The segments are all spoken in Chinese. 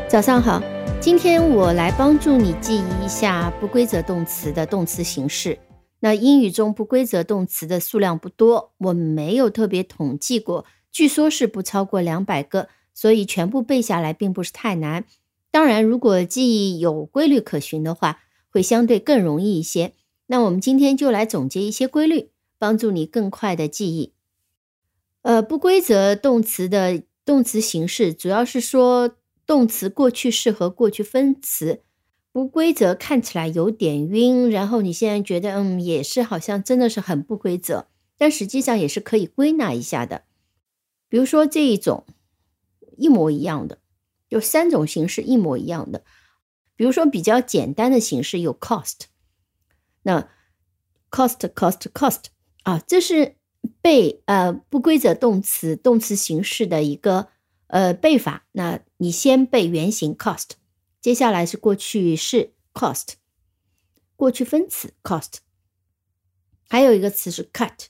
早上好，今天我来帮助你记忆一下不规则动词的动词形式。那英语中不规则动词的数量不多，我没有特别统计过，据说是不超过200个，所以全部背下来并不是太难。当然，如果记忆有规律可循的话，会相对更容易一些。那我们今天就来总结一些规律，帮助你更快的记忆。不规则动词的动词形式主要是说动词过去式和过去分词。不规则看起来有点晕，然后你现在觉得也是好像真的是很不规则，但实际上也是可以归纳一下的。比如说这一种一模一样的，有3种形式一模一样的。比如说比较简单的形式有 cost， 那 cost 这是背不规则动词形式的一个背法。那你先背原形 cost， 接下来是过去式 cost， 过去分词 cost， 还有一个词是 cut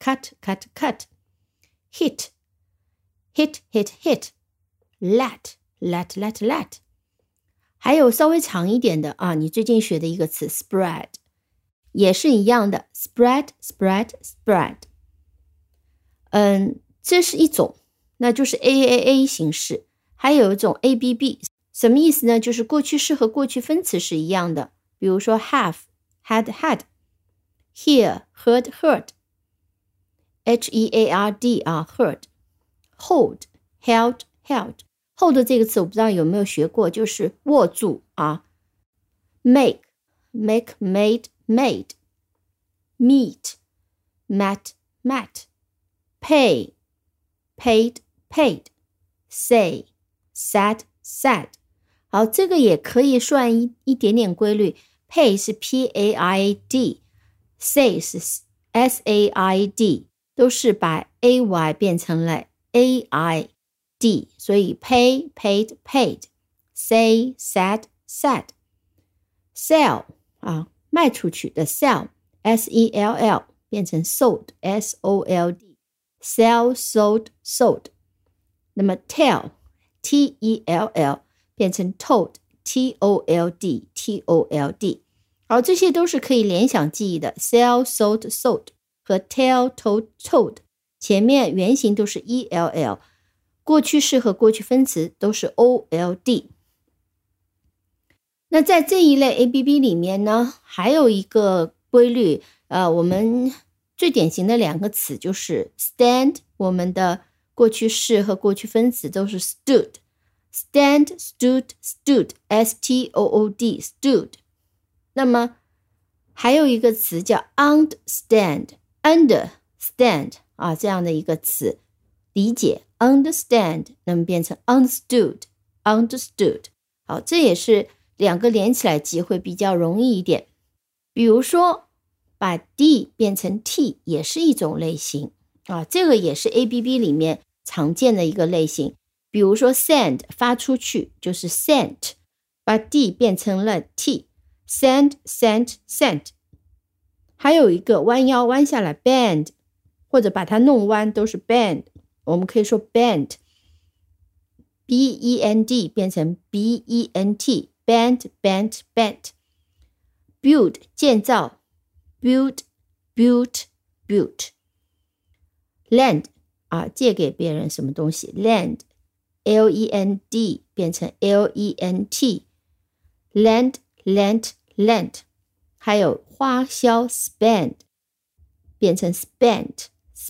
hit let， 还有稍微长一点的你最近学的一个词 spread， 也是一样的 spread。这是一种，那就是 AAA 形式。还有一种 ABB， 什么意思呢？就是过去式和过去分词是一样的。比如说 have had hear heard HEARD heard hold held hold 这个词我不知道有没有学过，就是握住make made meet met pay paid say said。好，这个也可以算一点点规律。 pay 是 PAID， say 是 SAID， 都是把 AY 变成了 AID， 所以 pay paid say said sell 卖出去的 sell SELL 变成 sold SOLD sell sold。 那么 tell TELL 变成 told TOLD。 好，这些都是可以联想记忆的。 sell sold 和 tell told 前面原型都是 ELL， 过去式和过去分词都是 OLD。 那在这一类 ABB 里面呢，还有一个规律，我们最典型的2个词就是 stand， 我们的过去式和过去分词都是 stood， stand stood STOOD stood。 那么还有一个词叫 understand 这样的一个词，理解 understand 那么变成 understood。 好，这也是2个连起来记会比较容易一点。比如说把 D 变成 T 也是一种类型这个也是 ABB 里面常见的一个类型。比如说 send 发出去就是 sent， 把 D 变成了 T sent。 还有一个弯腰弯下来 bend， 或者把它弄弯都是 bend， 我们可以说 bent BEND 变成 BENT bent build 建造 built lend 借给别人什么东西 lend LEND 变成 LENT lent。 还有花销 spend 变成 spent。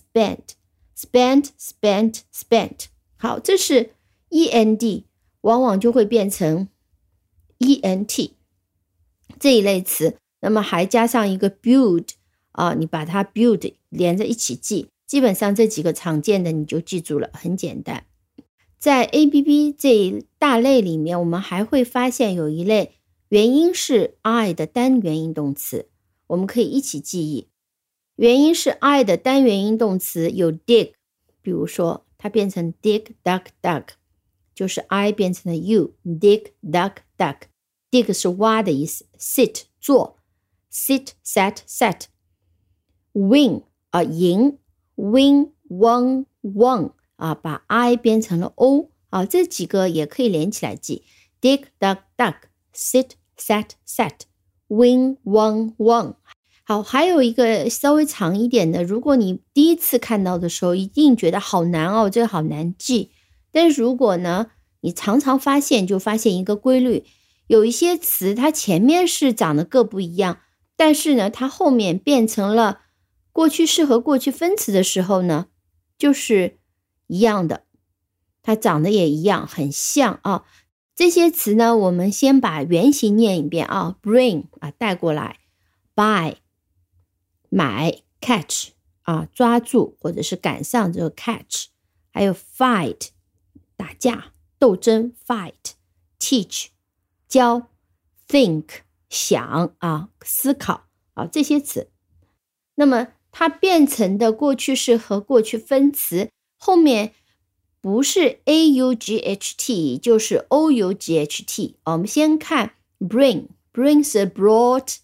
好，这是 END 往往就会变成 ENT 这一类词。那么还加上一个 build 你把它 build 连着一起记，基本上这几个常见的你就记住了，很简单。在 ABB 这一大类里面，我们还会发现有一类原因是 I 的单元音动词，我们可以一起记忆。原因是 I 的单元音动词有 dig， 比如说它变成 dig duck， 就是 I 变成了 U dig duck。 dig 是挖的意思， sit 坐 sit sat win 赢 win won 把 I 变成了 O 这几个也可以连起来记。 Dig, dug, dug. Sit, sat, sat. Win, won, won. 好，还有一个稍微长一点的，如果你第一次看到的时候，一定觉得好难哦，这个好难记。但是如果呢，你常常发现，就发现一个规律，有一些词它前面是长得各不一样，但是呢，它后面变成了过去式和过去分词的时候呢，就是一样的，它长得也一样，很像啊。这些词呢，我们先把原型念一遍啊 ，bring 啊带过来 ，buy 买 ，catch 啊抓住或者是赶上这个 catch， 还有 fight 打架斗争 fight，teach 教 think 想啊思考啊这些词。那么它变成的过去式和过去分词后面不是 aught 就是 ought。我们先看 bring 是 brought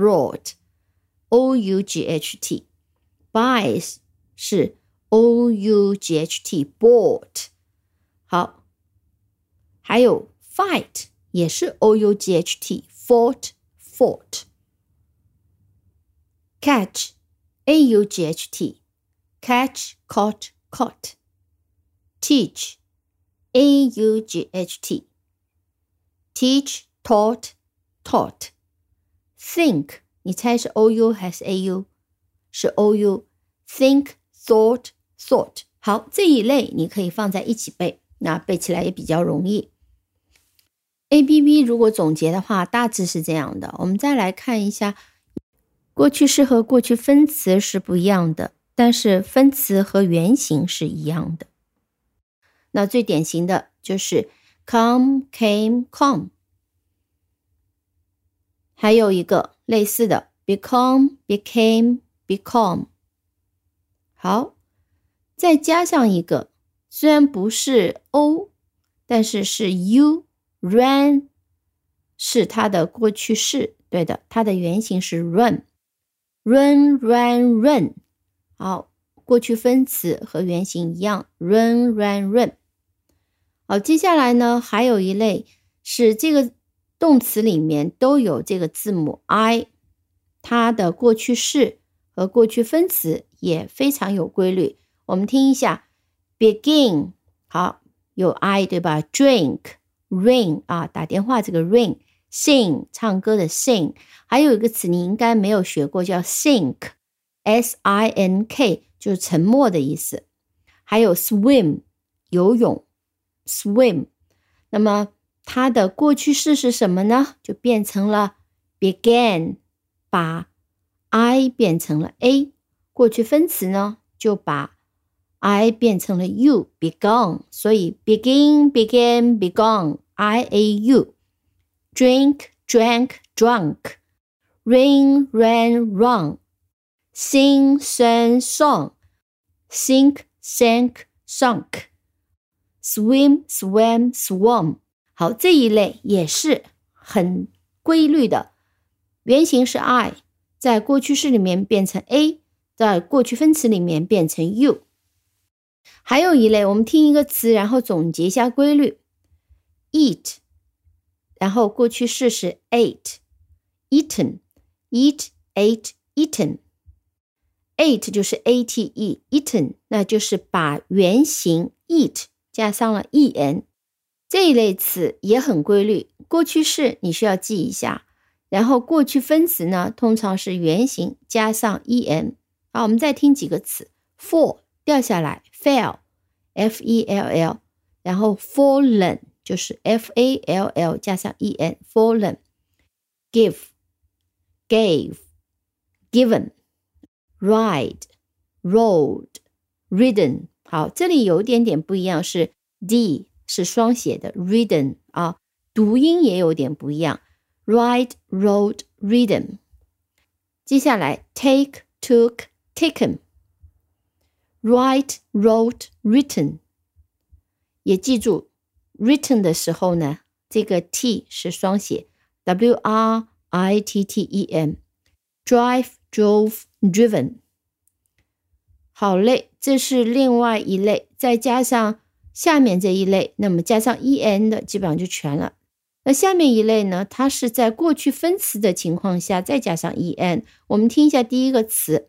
ought。 buy 是 ought bought。 好，还有 fight 也是 ought fought。 catch aught catch caught teach aught teach taught think 你猜是 ou 还是 au？ 是 ou think thought。 好，这一类你可以放在一起背，那背起来也比较容易。 ABB 如果总结的话大致是这样的。我们再来看一下，过去式和过去分词是不一样的，但是分词和原型是一样的。那最典型的就是 come came come， 还有一个类似的 become became become。 好，再加上一个虽然不是 o 但是是 u ran 是它的过去式，对的，它的原型是 run run。 好，过去分词和原型一样 run。 好，接下来呢还有一类是这个动词里面都有这个字母 i， 它的过去式和过去分词也非常有规律。我们听一下 begin， 好，有 i 对吧？ drink ring 啊，打电话这个 ring， sing 唱歌的 sing， 还有一个词你应该没有学过叫 sink sink 就是沉默的意思。还有 swim 游泳 swim， 那么它的过去式是什么呢？就变成了 began， 把 I 变成了 A， 过去分词呢就把 I 变成了 U begun， 所以 begin began begun IAU。 drink drank drunk ring ran run sing sang song sink sank sunk swim swam swam。 好，这一类也是很规律的，原型是 I， 在过去式里面变成 A， 在过去分词里面变成 U。 还有一类，我们听一个词然后总结一下规律， eat 然后过去式是 ate eaten eat ate eaten， ate 就是 ate eaten， 那就是把原型 eat 加上了 en。 这一类词也很规律，过去式你需要记一下，然后过去分词呢通常是原型加上 en。 好，我们再听几个词， fall 掉下来 fell F-E-L-L， 然后 fallen 就是 F-A-L-L 加上 en fallen， give gave given ride rode ridden。 好，这里有一点点不一样，是 D 是双写的 ridden 啊，读音也有点不一样 ride rode ridden。 接下来 take took taken write wrote written， 也记住 written 的时候呢这个 T 是双写 W-R-I-T-T-E-N drive drove driven。 好嘞，这是另外一类，再加上下面这一类，那么加上 en 的基本上就全了。 那下面一类呢，它是在过去分词的情况下再加上 en。我们听一下第一个词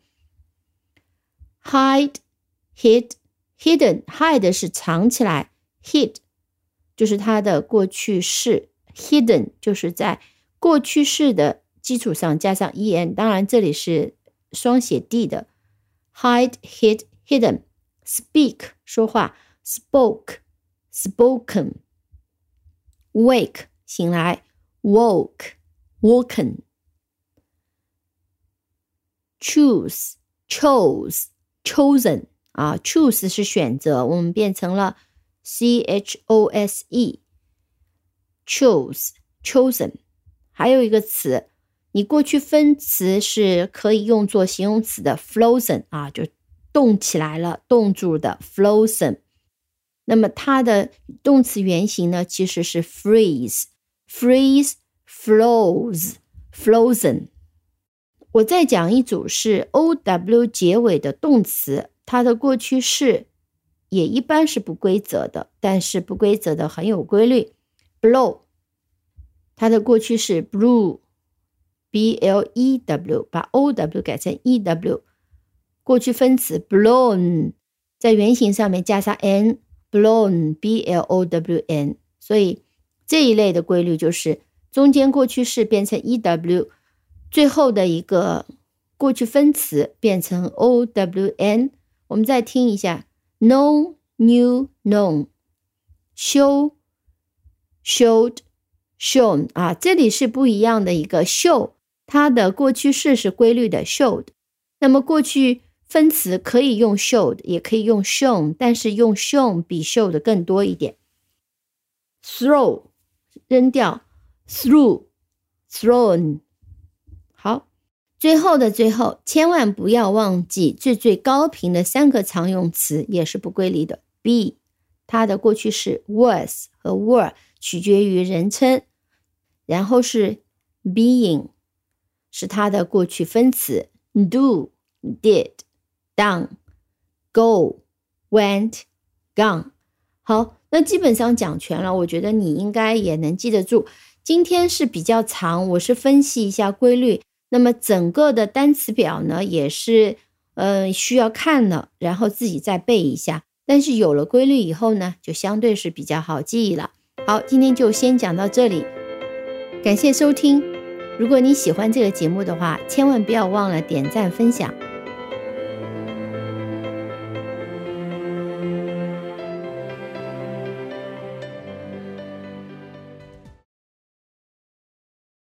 hide, hid, hidden。 hide 是藏起来， hid 就是它的过去式， hidden 就是在过去式的基础上加上 en， 当然这里是双写 d 的 hide, hid, hidden。 speak 说话， spoke, spoken。 wake 醒来， woke, woken。 choose, chose, chosen。 choose 是选择，我们变成了 chose, chose, chosen。 还有一个词，你过去分词是可以用作形容词的 frozen， 就冻起来了，冻住的 frozen。 那么它的动词原形呢，其实是 freeze, freeze, froze, frozen。 我再讲一组是 ow 结尾的动词，它的过去式也一般是不规则的，但是不规则的很有规律。 blow 它的过去式 blew, B-L-E-W， 把 O-W 改成 E-W。 过去分词 blown 在原形上面加上 N， blown, B-L-O-W-N。 所以这一类的规律就是中间过去式变成 E-W， 最后的一个过去分词变成 O-W-N。 我们再听一下 know, knew, known。 show, showed, shown。 这里是不一样的一个 show， 它的过去式是规律的 showed。 那么过去分词可以用 showed 也可以用 shown， 但是用 shown 比 showed 更多一点。 throw 扔掉， threw, thrown。 好，最后的最后，千万不要忘记最高频的3个常用词也是不规律的。 be 它的过去式 was 和 were 取决于人称，然后是 being 是它的过去分词， do, did, done, go, went, gone。 好，那基本上讲全了，我觉得你应该也能记得住。今天是比较长，我是分析一下规律，那么整个的单词表呢也是需要看了，然后自己再背一下。但是有了规律以后呢，就相对是比较好记忆了。好，今天就先讲到这里，感谢收听。如果你喜欢这个节目的话，千万不要忘了点赞分享。